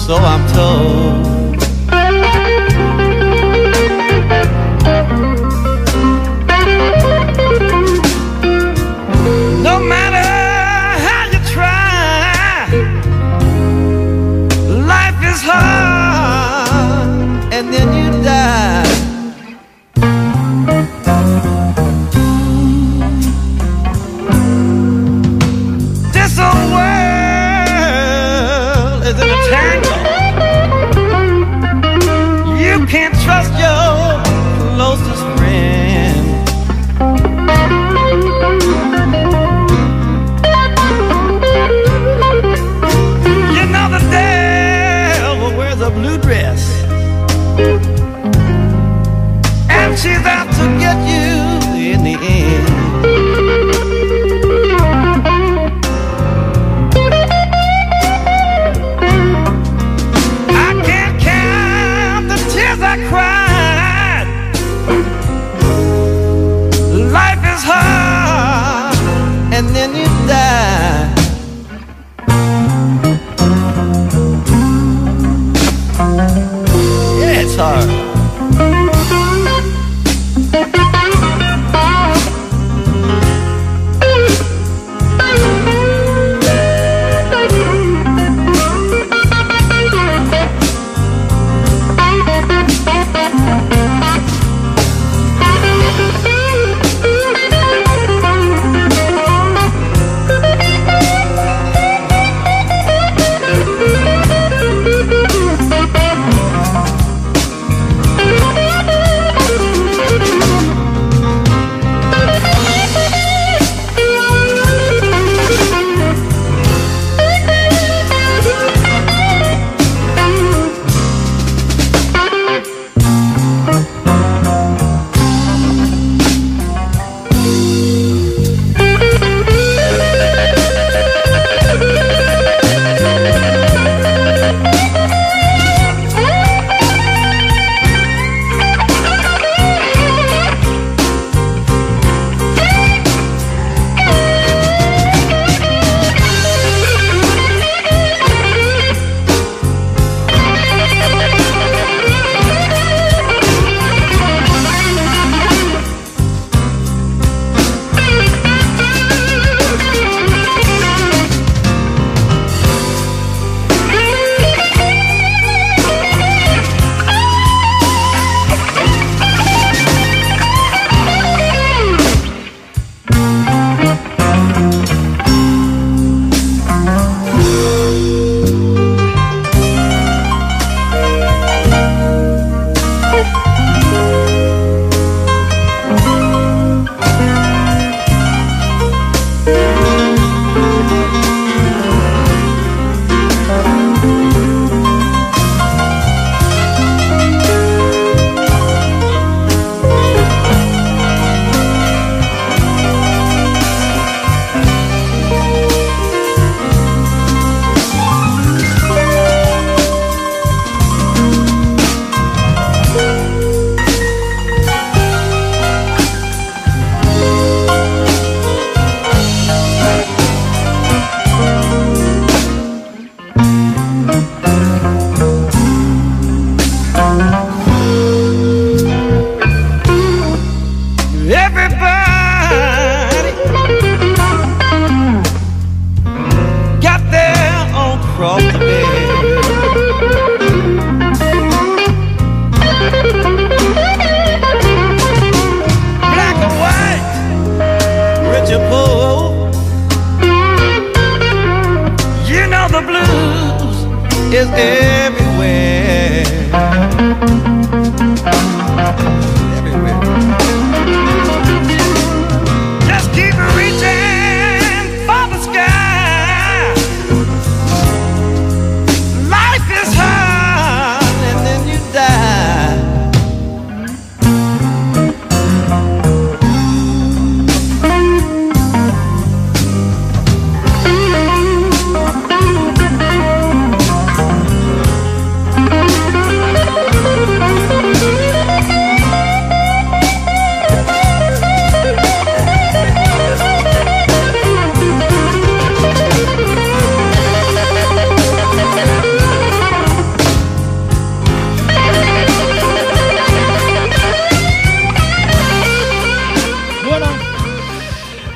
so I'm told. No matter how you try, life is hard, and then you die. This old world is in a tangle. You can't trust your closest friend. You know the devil wears a blue dress, and she's out to get you in the end. I can't count the tears I cried. Life is hard, and then you die. Yeah, it's hard.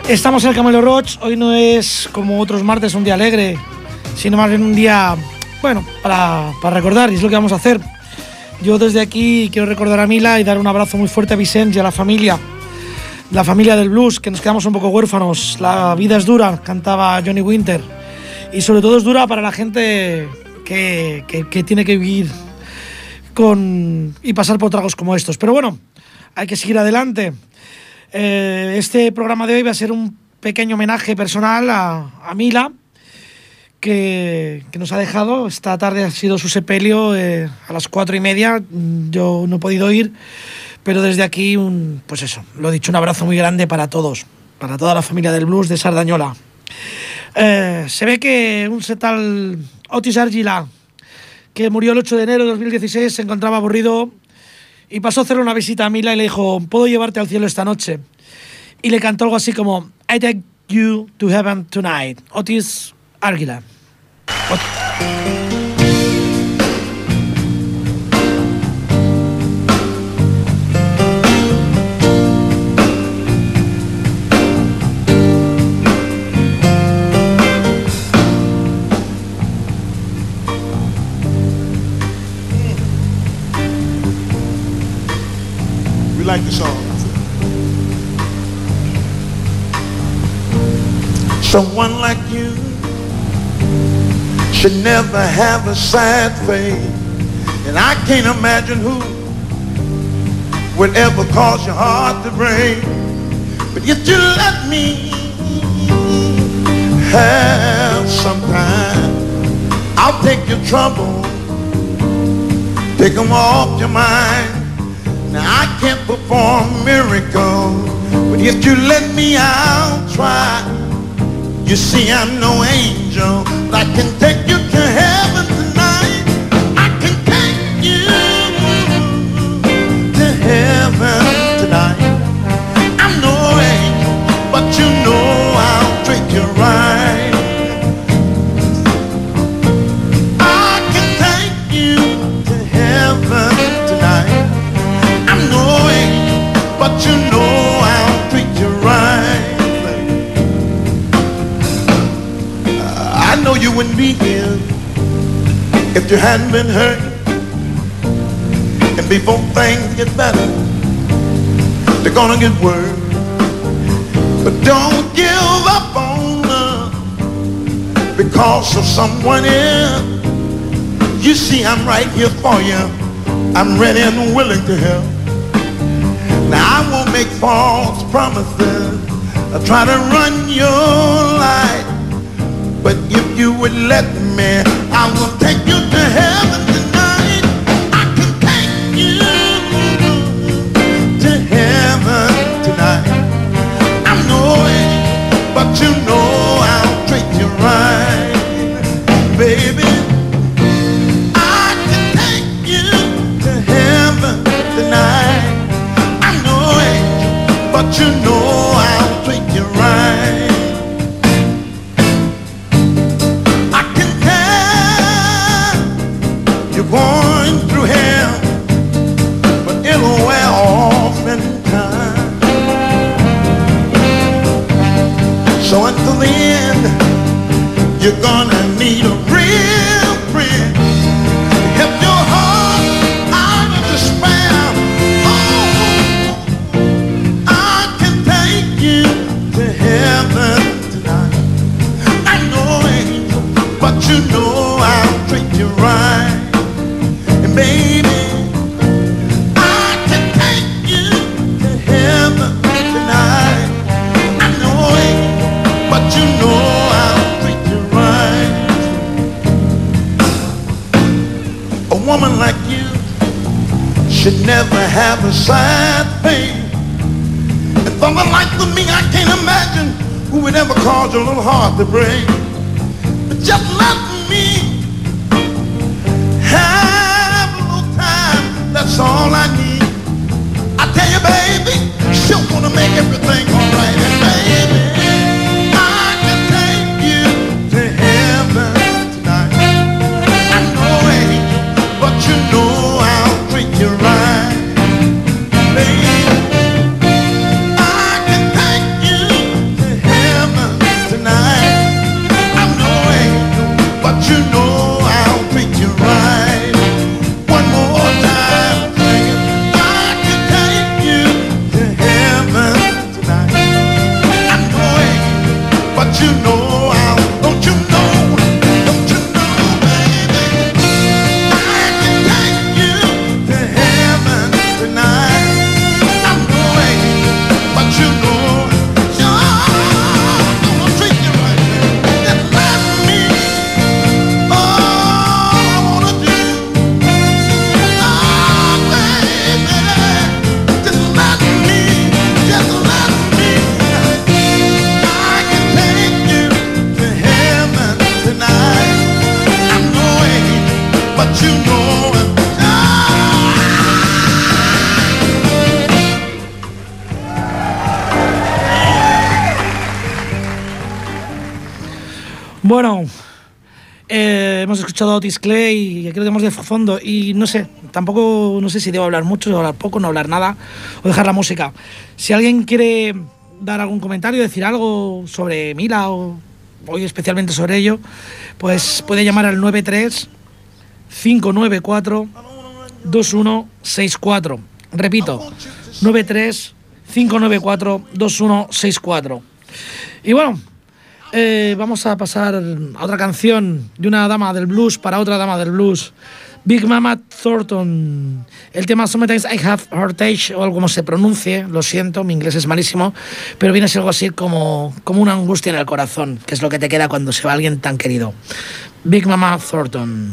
Estamos en el Camelo Roach. Hoy no es como otros martes un día alegre, sino más bien un día, bueno, para recordar, y es lo que vamos a hacer. Yo desde aquí quiero recordar a Mila y dar un abrazo muy fuerte a Vicente y a la familia del blues, que nos quedamos un poco huérfanos. La vida es dura, cantaba Johnny Winter, y sobre todo es dura para la gente que tiene que vivir y pasar por tragos como estos. Pero bueno, hay que seguir adelante. Este programa de hoy va a ser un pequeño homenaje personal a Mila, que nos ha dejado. Esta tarde ha sido su sepelio a las 4:30. Yo no he podido ir, pero desde aquí, pues eso, lo he dicho, un abrazo muy grande para todos, para toda la familia del blues de Sardañola. Se ve que un tal Otis Argila, que murió el 8 de enero de 2016, se encontraba aburrido y pasó a hacerle una visita a Mila y le dijo: ¿puedo llevarte al cielo esta noche? Y le cantó algo así como I take you to heaven tonight. Otis Argila. We like the song. Someone like you should never have a sad face, and I can't imagine who would ever cause your heart to break. But if you let me have some time, I'll take your trouble, take them off your mind. Now I can't perform miracles, but if you let me, I'll try. You see, I'm no angel, but I can take you to heaven tonight. I can take you to heaven tonight. I'm no angel, but you know I'll treat you right. I can take you to heaven tonight. I'm no angel, but you know I'll treat you right. I know you wouldn't be here if you hadn't been hurt. And before things get better, they're gonna get worse. But don't give up on love because of someone else. You see, I'm right here for you. I'm ready and willing to help. Now I won't make false promises. I'll try to run your life. But if you would let me, I will take you to heaven tonight. I can take you to heaven tonight. I'm no angel, but you know I'll treat you right. Baby, I can take you to heaven tonight. I'm no angel, but you know I'll treat you right. Going through hell, but it'll wear off in time. So until the end, you're gonna need a real friend to help your heart out of despair. Oh, I can take you to heaven tonight. I'm no angel, but you know I'll treat you right. Baby, I can take you to heaven tonight. I know it, but you know I'll treat you right. A woman like you should never have a sad face. And someone like me, I can't imagine who would ever cause your little heart to break. But just let me have, that's all I need. I tell you, baby, she'll wanna make everything alright. And baby, I can take you to heaven tonight. I know it, but you know I'll treat you right. Baby, I can take you to you know, don't you know, don't you know, baby, I can take you to heaven tonight. I'm going, but you know, I'm gonna treat you right. Just let me, all I wanna do, baby, just let me, I can take you to heaven tonight. I'm going, but you know it. Bueno, hemos escuchado a Otis Clay y aquí lo tenemos de fondo y no sé, tampoco no sé si debo hablar mucho, hablar poco, no hablar nada o dejar la música. Si alguien quiere dar algún comentario, decir algo sobre Mila o hoy especialmente sobre ello, pues puede llamar al 93-594-2164. Repito, 93-594-2164. Y bueno, vamos a pasar a otra canción de una dama del blues para otra dama del blues. Big Mama Thornton. El tema Sometimes I Have Heartache, o algo como se pronuncie, lo siento, mi inglés es malísimo, pero viene a ser algo así como una angustia en el corazón, que es lo que te queda cuando se va alguien tan querido. Big Mama Thornton.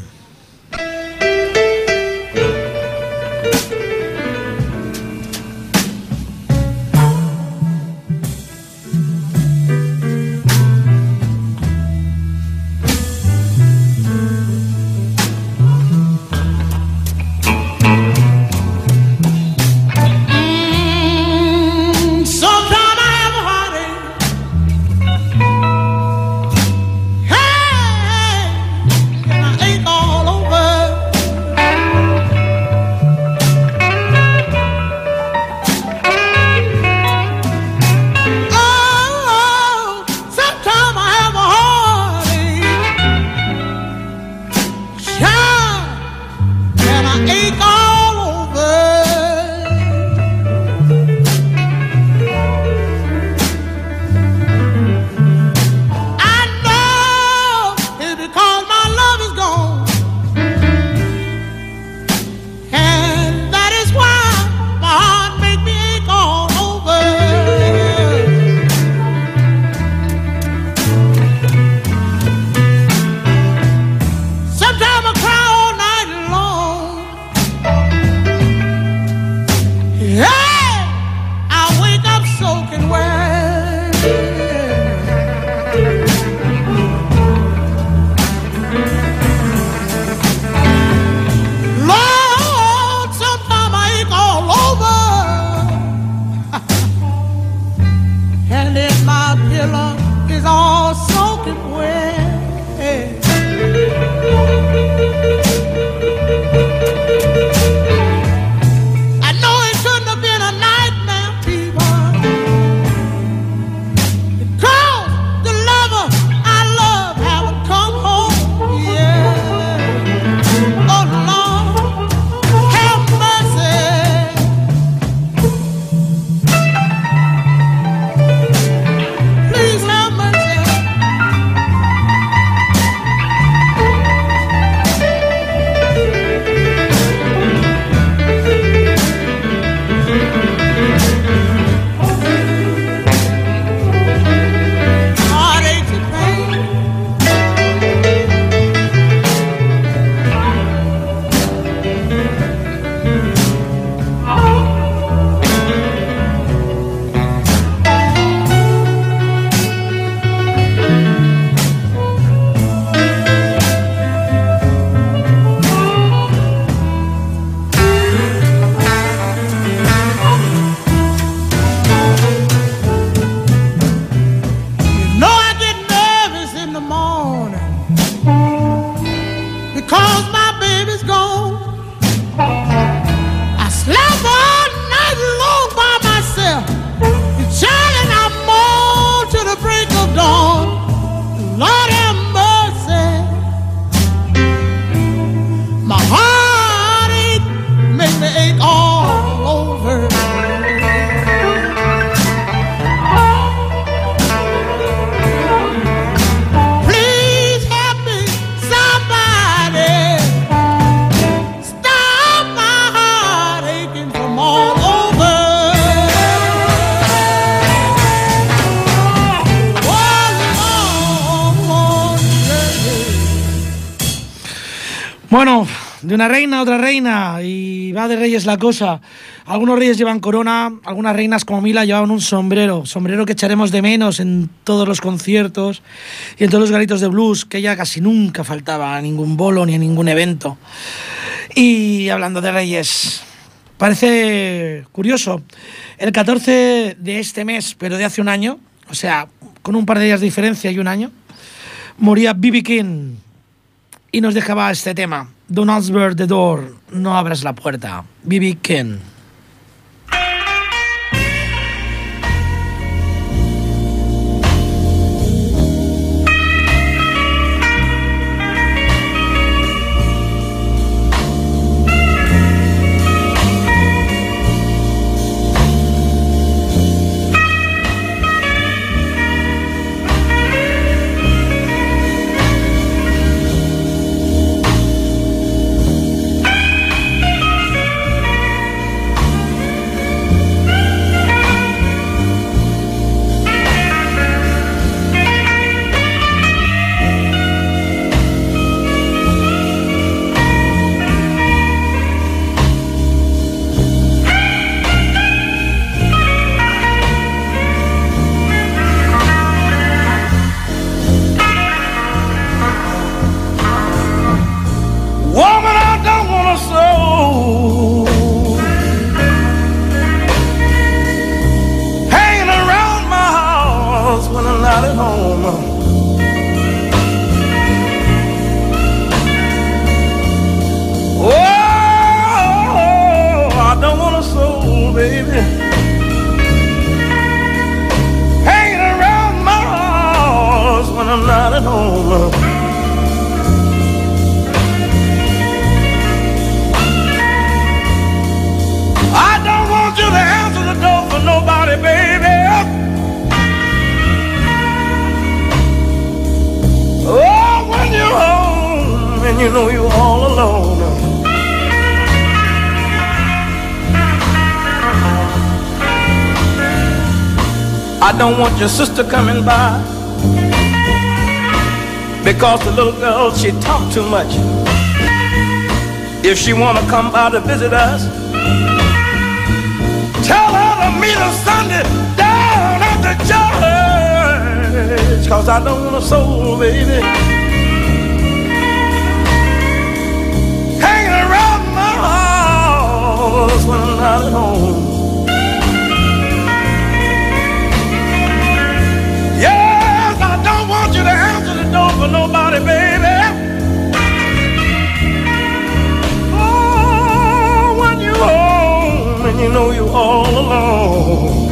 Bueno, de una reina a otra reina, y va de reyes la cosa. Algunos reyes llevan corona, algunas reinas como Mila llevaban un sombrero que echaremos de menos en todos los conciertos y en todos los garitos de blues, que ella casi nunca faltaba a ningún bolo ni a ningún evento. Y hablando de reyes, parece curioso, el 14 de este mes, pero de hace un año, o sea, con un par de días de diferencia y un año, moría B.B. King. Y nos dejaba este tema, Don't Answer the Door, no abras la puerta, B.B. King. You know you're all alone. I don't want your sister coming by, because the little girl, she talk too much. If she wanna come by to visit us, tell her to meet us Sunday down at the church, 'cause I don't want a soul, baby, when I'm not at home. Yes, I don't want you to answer the door for nobody, baby. Oh, when you're home and you know you're all alone.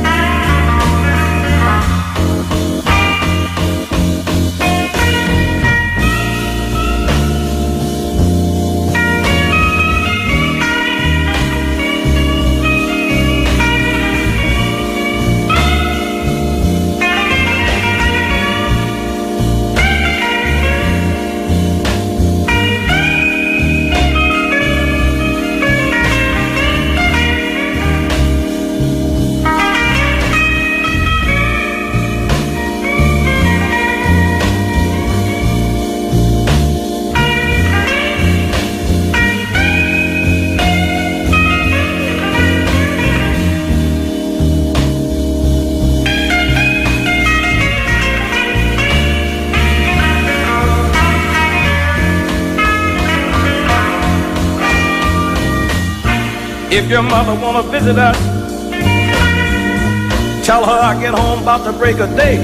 If your mother wanna visit us, tell her I get home about the break of day,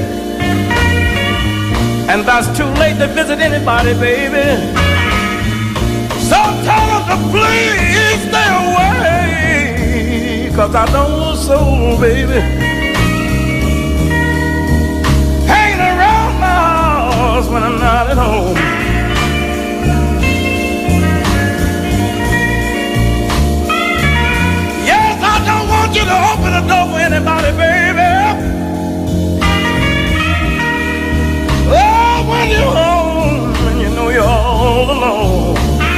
and that's too late to visit anybody, baby. So tell her to please stay away, 'cause I don't want a soul, baby, hanging around my house when I'm not at home. You to open the door for anybody, baby. Oh, when you're home and you know you're all alone.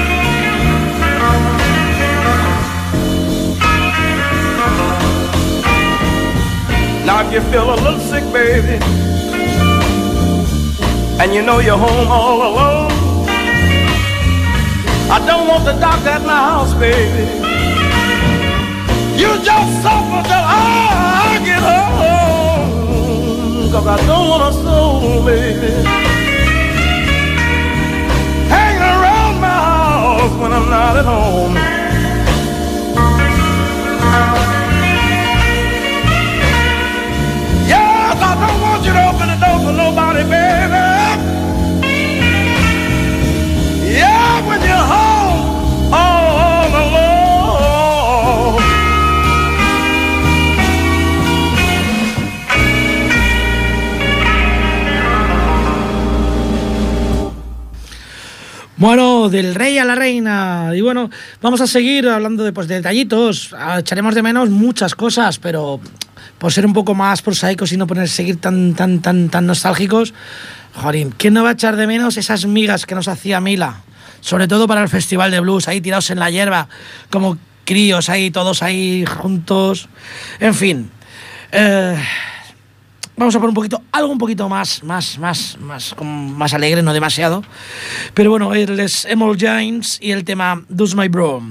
Now if you feel a little sick, baby, and you know you're home all alone, I don't want the doctor at my house, baby. You just suffer till I get home, 'cause I don't want a soul, baby, hanging around my house when I'm not at home. Yes, I don't want you to open the door for nobody, baby. Yeah, when you're home all alone. Bueno, del rey a la reina. Y bueno, vamos a seguir hablando de, pues, de detallitos. Echaremos de menos muchas cosas, pero por ser un poco más prosaicos y no seguir tan nostálgicos, joder, ¿quién no va a echar de menos esas migas que nos hacía Mila? Sobre todo para el Festival de Blues, ahí tirados en la hierba, como críos ahí, todos ahí juntos. En fin, vamos a poner algo un poquito más alegre, no demasiado. Pero bueno, él es Emerald James y el tema Does My Bro.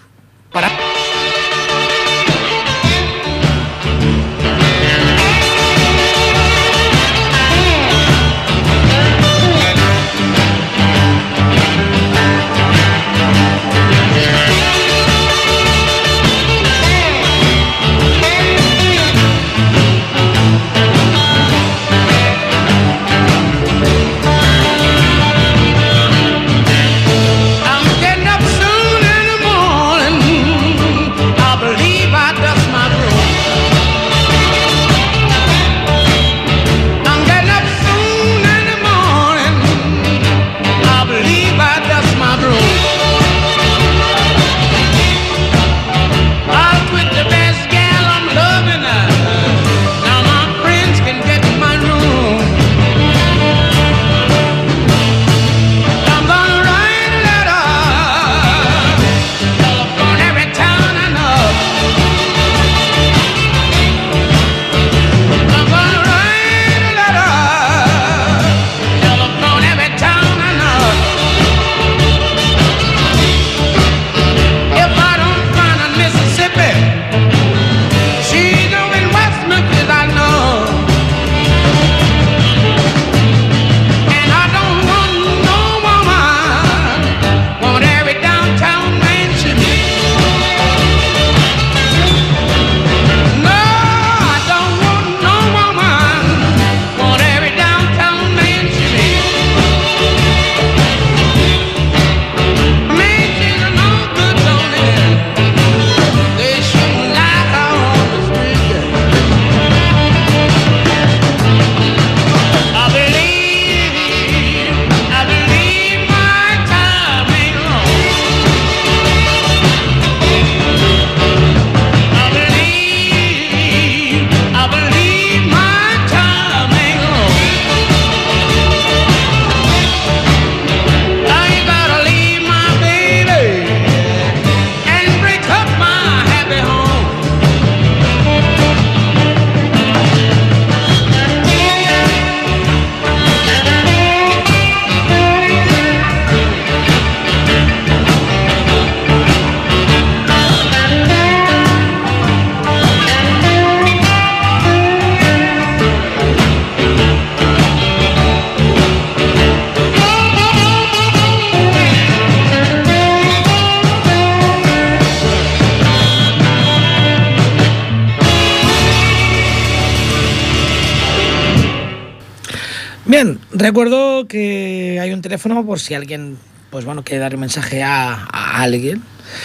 Bien, recuerdo que hay un teléfono por si alguien, pues bueno, quiere dar un mensaje a alguien.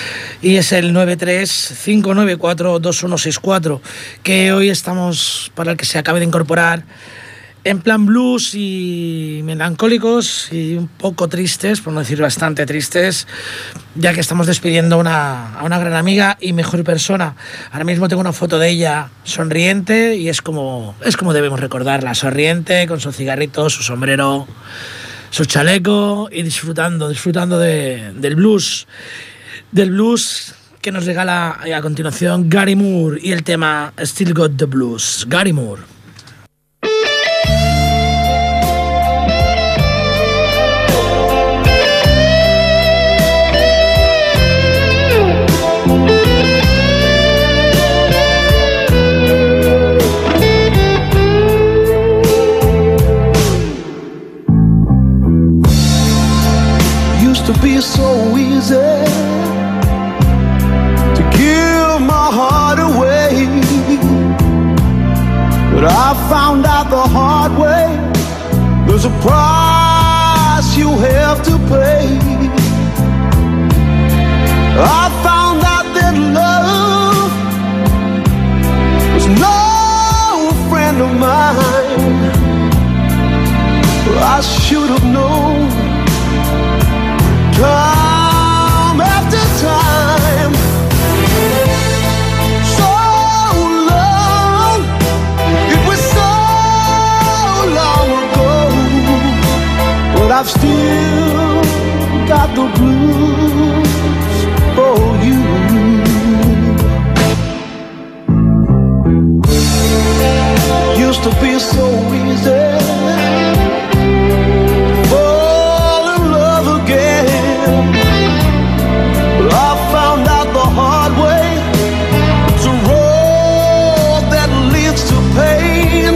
Y es el 935942164, que hoy estamos, para el que se acabe de incorporar, en plan blues y melancólicos y un poco tristes, por no decir bastante tristes, ya que estamos despidiendo a una gran amiga y mejor persona. Ahora mismo tengo una foto de ella sonriente y es como debemos recordarla, sonriente, con su cigarrito, su sombrero, su chaleco y disfrutando del blues que nos regala a continuación Gary Moore y el tema Still Got the Blues. Gary Moore. There's a price you have to pay. I found out that love was no friend of mine. I should have known time after time. So long, it was so long ago, but I've still got the blues for you. Used to be so easy fall in love again, but I found out the hard way. It's a road that leads to pain.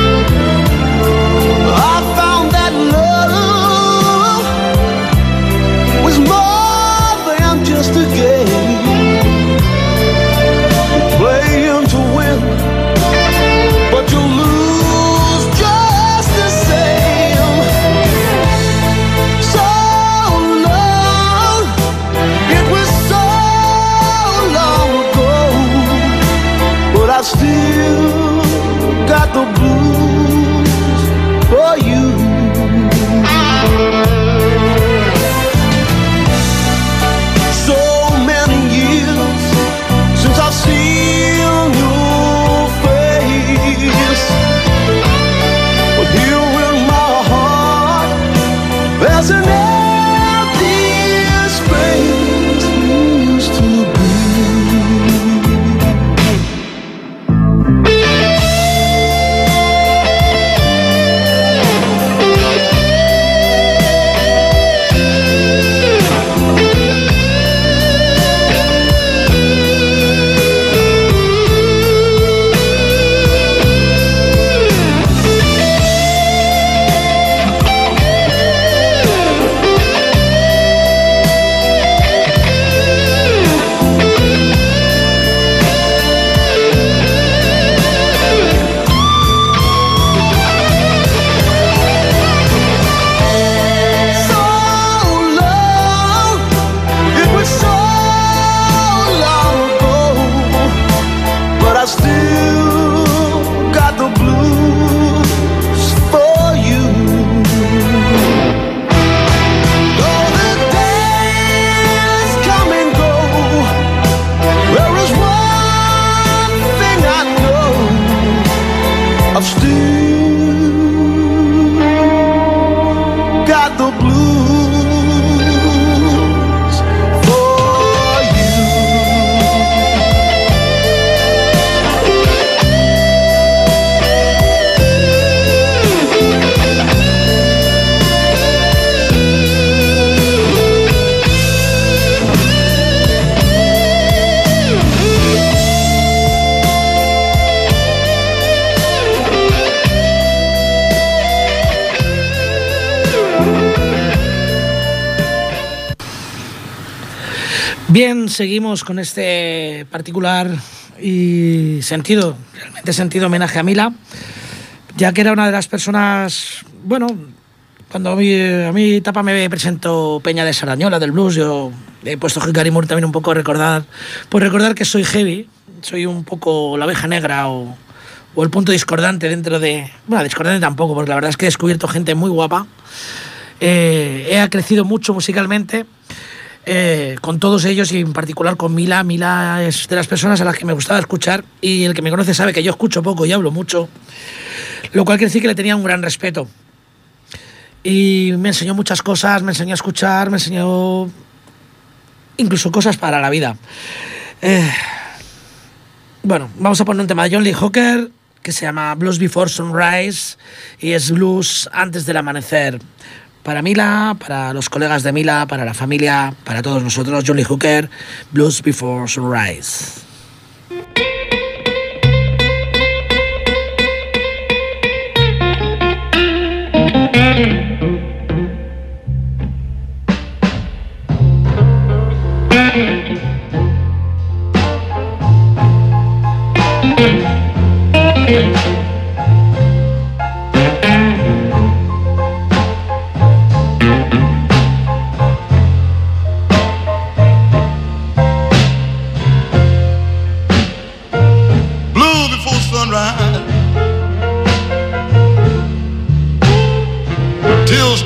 I found that love was more than just a game. You play him to win, but you lose just the same. So long, it was so long ago, but I still got the blues for you. So many years since I've seen your face, but here in my heart there's an empty space used to be. So long, it was so long ago, but I still got the blues for you. Though the days come and go, there is one thing I know: I've still got the blues for you. Bien, seguimos con este particular y realmente sentido homenaje a Mila, ya que era una de las personas, bueno, cuando a mí Tapa me presentó Peña de Sarañola del blues, yo he puesto Hickory Moore también un poco a recordar que soy heavy, soy un poco la oveja negra o el punto discordante dentro de... Bueno, discordante tampoco, porque la verdad es que he descubierto gente muy guapa, he crecido mucho musicalmente, con todos ellos y en particular con Mila. Mila es de las personas a las que me gustaba escuchar, y el que me conoce sabe que yo escucho poco y hablo mucho, lo cual quiere decir que le tenía un gran respeto. Y me enseñó muchas cosas, me enseñó a escuchar, me enseñó incluso cosas para la vida. Bueno, vamos a poner un tema de John Lee Hooker que se llama Blues Before Sunrise, y es blues antes del amanecer. Para Mila, para los colegas de Mila, para la familia, para todos nosotros, John Lee Hooker, Blues Before Sunrise.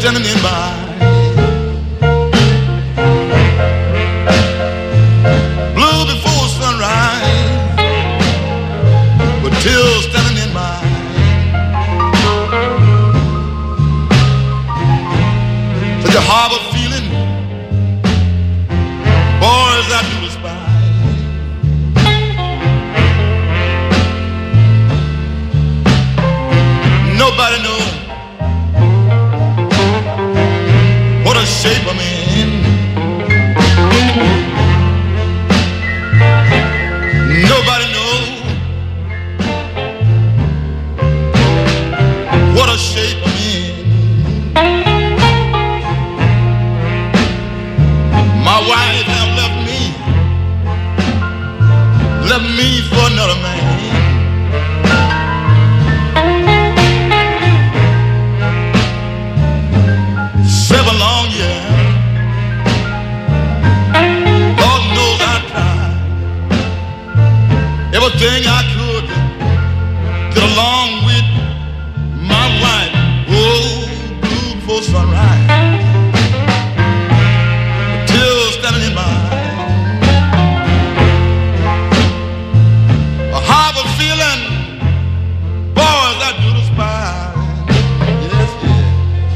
standing in my blue before sunrise, but till standing in my such a harbor feeling, boys I do despise. Nobody knows what a shape I'm in. Nobody knows what a shape I'm in. My wife have left me for another man. 7 long years, Lord knows I tried everything I could to get along with my wife. Oh, blue before sunrise, till standing in my a harbor feeling, boys I do despise. Yes, yes.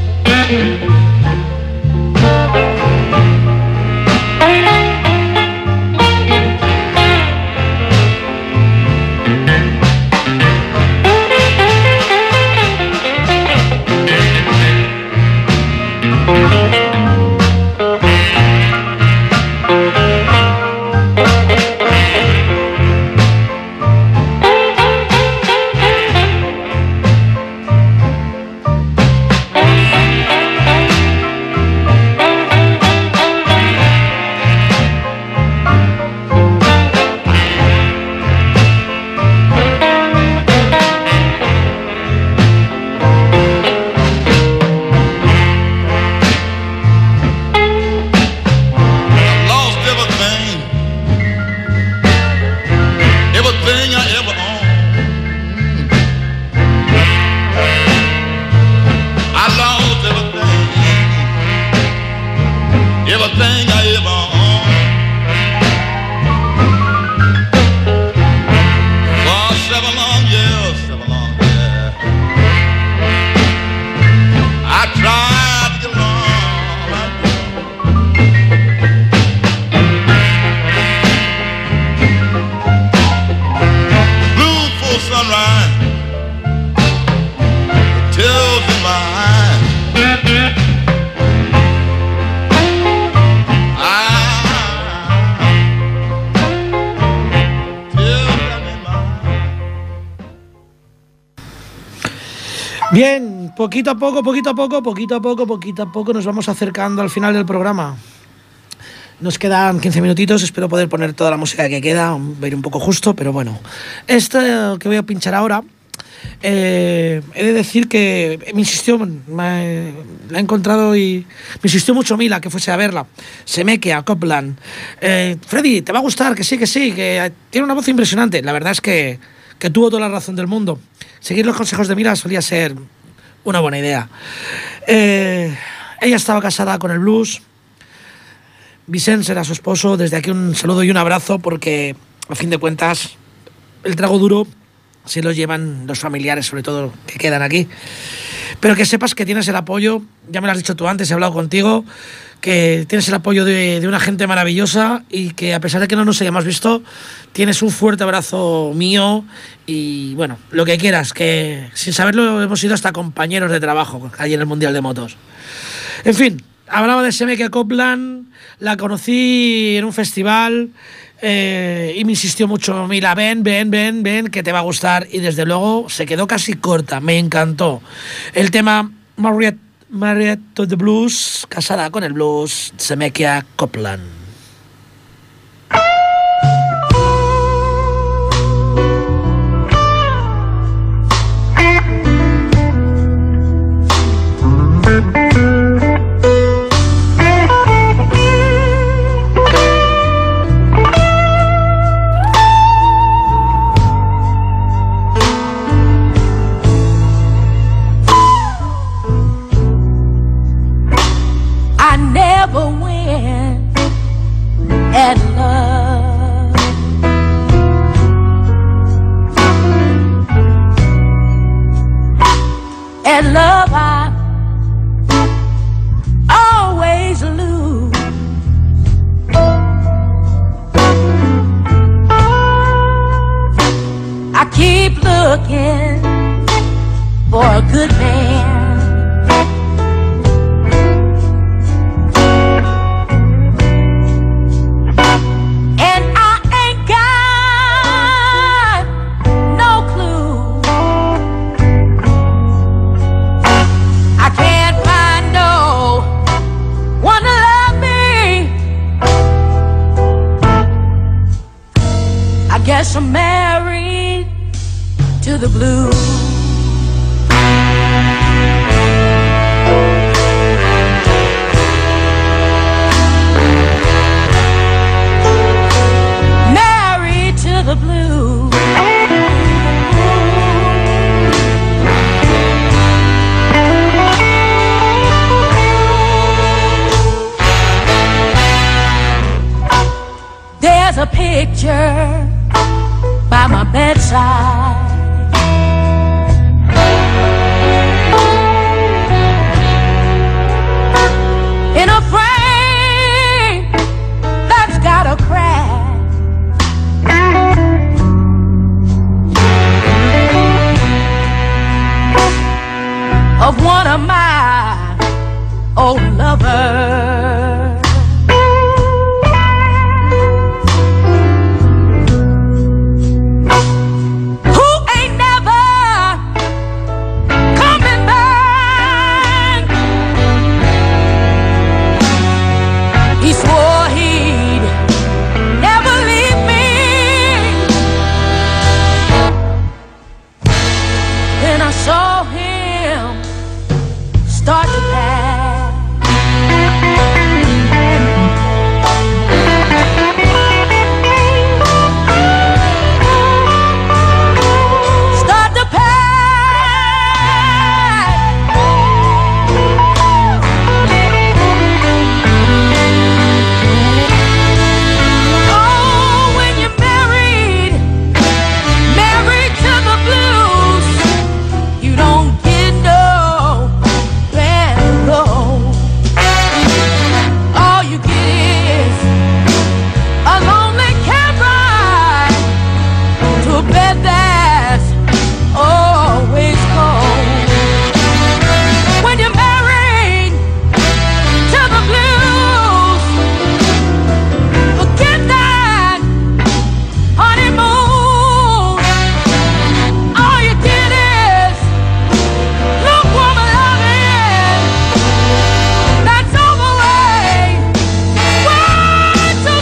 Everything I ever owned. For 7 long years, I tried to get along. Blue for sunrise, tears in my eyes. Bien, poquito a poco nos vamos acercando al final del programa. Nos quedan 15 minutitos, espero poder poner toda la música que queda, va a ir un poco justo, pero bueno. Esto que voy a pinchar ahora, he de decir que me insistió, la he encontrado y me insistió mucho Mila que fuese a verla. Zemekea Copland. Freddy, te va a gustar, que sí, que tiene una voz impresionante. La verdad es que tuvo toda la razón del mundo. Seguir los consejos de Mila solía ser una buena idea. Ella estaba casada con el blues. Vicens era su esposo. Desde aquí un saludo y un abrazo, porque a fin de cuentas el trago duro se lo llevan los familiares, sobre todo que quedan aquí. Pero que sepas que tienes el apoyo, ya me lo has dicho tú antes, he hablado contigo, que tienes el apoyo de una gente maravillosa y que a pesar de que no nos hayamos visto, tienes un fuerte abrazo mío y bueno, lo que quieras, que sin saberlo hemos sido hasta compañeros de trabajo allí en el Mundial de Motos. En fin, hablaba de Zemekea Copland, la conocí en un festival y me insistió mucho, mira, ven, que te va a gustar, y desde luego se quedó casi corta, me encantó. El tema Married to the Blues, casada con el blues, Zemekea Copland. love I always lose. I keep looking for a good man, and I ain't got no clue. I can't find no one to love me. I guess I'm married to the blues. Married to the blues. There's a picture by my bedside, in a frame that's got a crack. Of one of my old lovers. Saw him start to pass. Start to pass. Oh, when you're married, married to the blues, you don't get no bad go. All you get is a lonely cab ride to a bed that's always cold. When you're married to the blues, forget that honeymoon. All you get is lukewarm loving that's over way too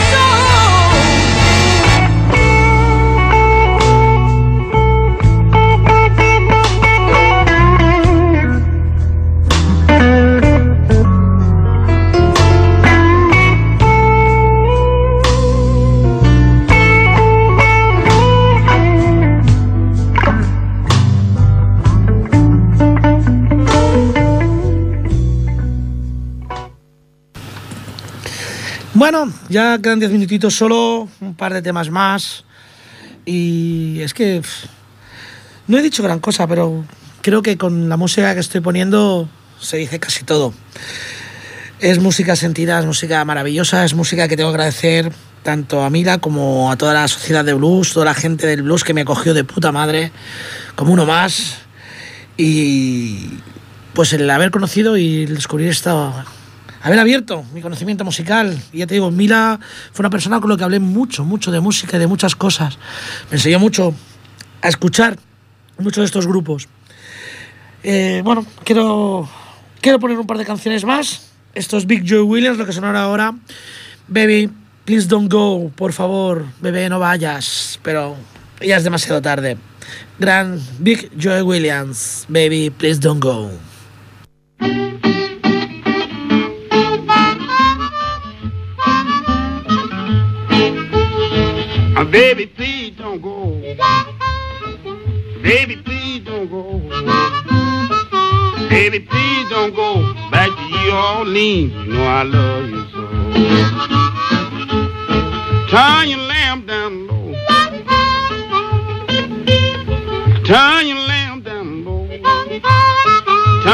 Bueno, ya quedan 10 minutitos solo, un par de temas más. Y es que no he dicho gran cosa, pero creo que con la música que estoy poniendo se dice casi todo. Es música sentida, es música maravillosa, es música que tengo que agradecer tanto a Mila como a toda la sociedad de blues, toda la gente del blues que me acogió de puta madre, como uno más. Y pues el haber conocido y el descubrir esta... haber abierto mi conocimiento musical. Y ya te digo, Mila fue una persona con la que hablé mucho de música y de muchas cosas. Me enseñó mucho a escuchar muchos de estos grupos. Bueno, quiero poner un par de canciones más. Esto es Big Joe Williams, lo que sonará ahora. Baby, please don't go. Por favor, bebé, no vayas. Pero ya es demasiado tarde. Gran Big Joe Williams. Baby, please don't go. Baby, please don't go. Baby, please don't go. Baby, please don't go back to New Orleans. You know I love you so. Turn your lamp down low. Turn your lamp down low.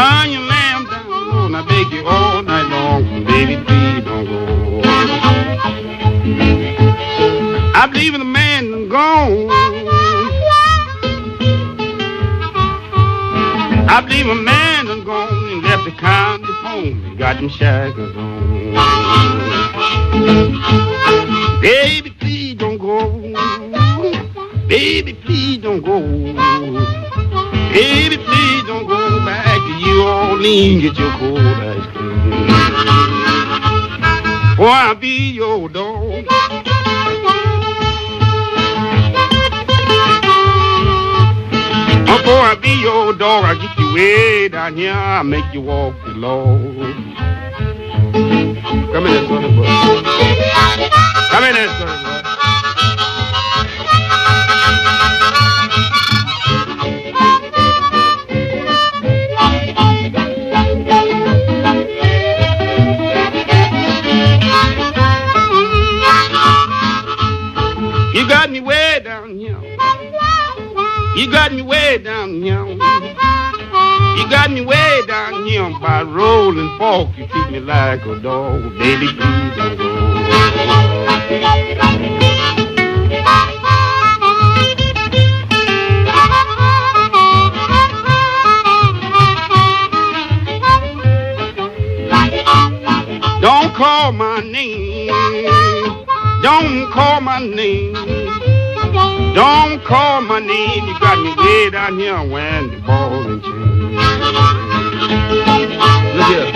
I believe a man done gone and left the county home and got them shackles on. Baby, please don't go. Baby, please don't go. Baby, please don't go back to New Orleans, get your cold ice cream. Or I'll be your dog. Before I be your dog, I'll get you way down here, I'll make you walk the Lord. Come in there, sonny boy. Come in there, sonny boy. You got me way down here. You got me way down here. You got me way down here by rolling fork. You treat me like a dog, baby, please don't go. Don't call my name. Don't call my name. Don't call my name. You got me way down here when the ball and chain. Look here.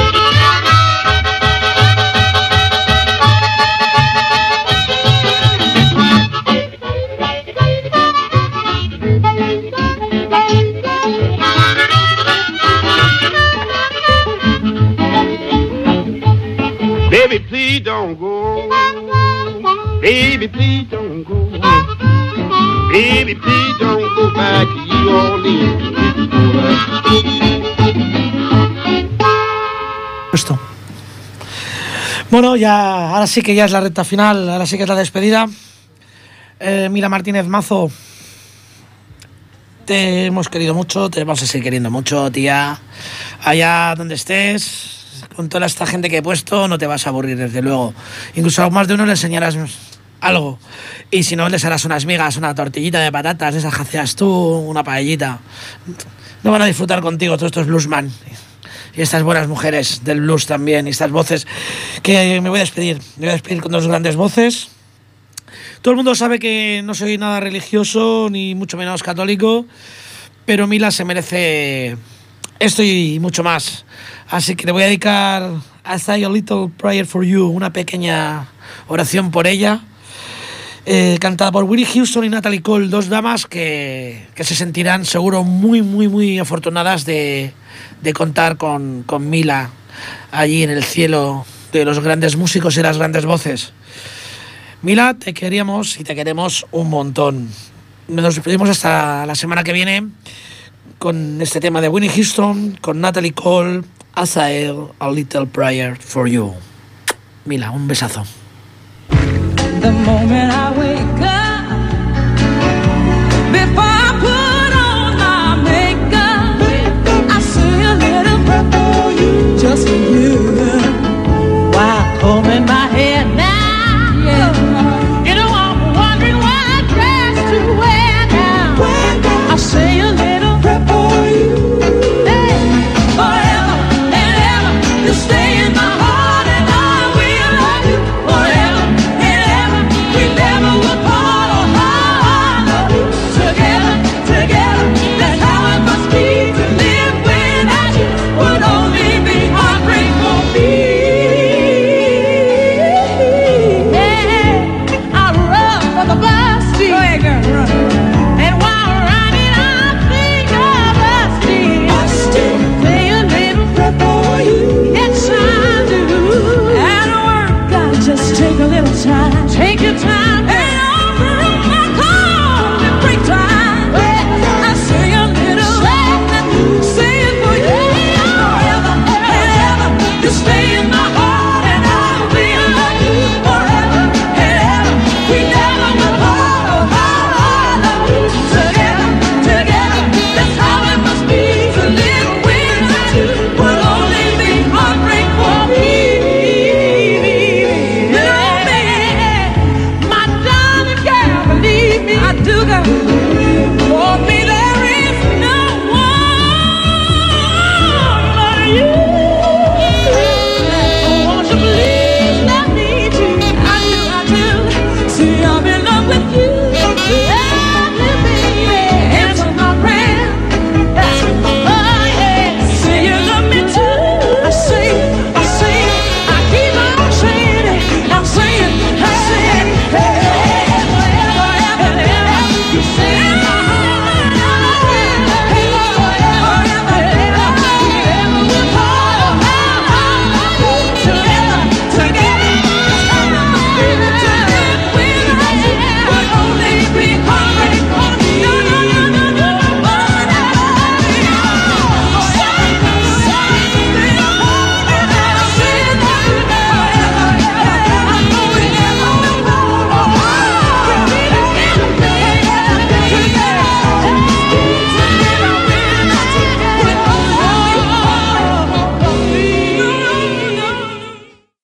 Baby, please don't go. Baby, please don't go. Baby, please don't go back to New Orleans. Esto. Bueno, ya, ahora sí que ya es la recta final, ahora sí que es la despedida. Mila Martínez Mazo, te hemos querido mucho, te vamos a seguir queriendo mucho, tía. Allá donde estés, con toda esta gente que he puesto, no te vas a aburrir, desde luego. Incluso a más de uno le enseñarás algo. Y si no, les harás unas migas, una tortillita de patatas, esas que hacías tú, una paellita. No van a disfrutar contigo todos estos bluesman y estas buenas mujeres del blues también, y estas voces que me voy a despedir. Me voy a despedir con dos grandes voces. Todo el mundo sabe que no soy nada religioso, ni mucho menos católico, pero Mila se merece esto y mucho más. Así que le voy a dedicar a Say a Little Prayer for You, una pequeña oración por ella, cantada por Whitney Houston y Natalie Cole, dos damas que se sentirán seguro muy afortunadas de contar con Mila allí en el cielo de los grandes músicos y las grandes voces. Mila, te queríamos y te queremos un montón. Nos despedimos hasta la semana que viene con este tema de Whitney Houston, con Natalie Cole, As I A Little Prayer for You. Mila, un besazo. The moment I wake up, before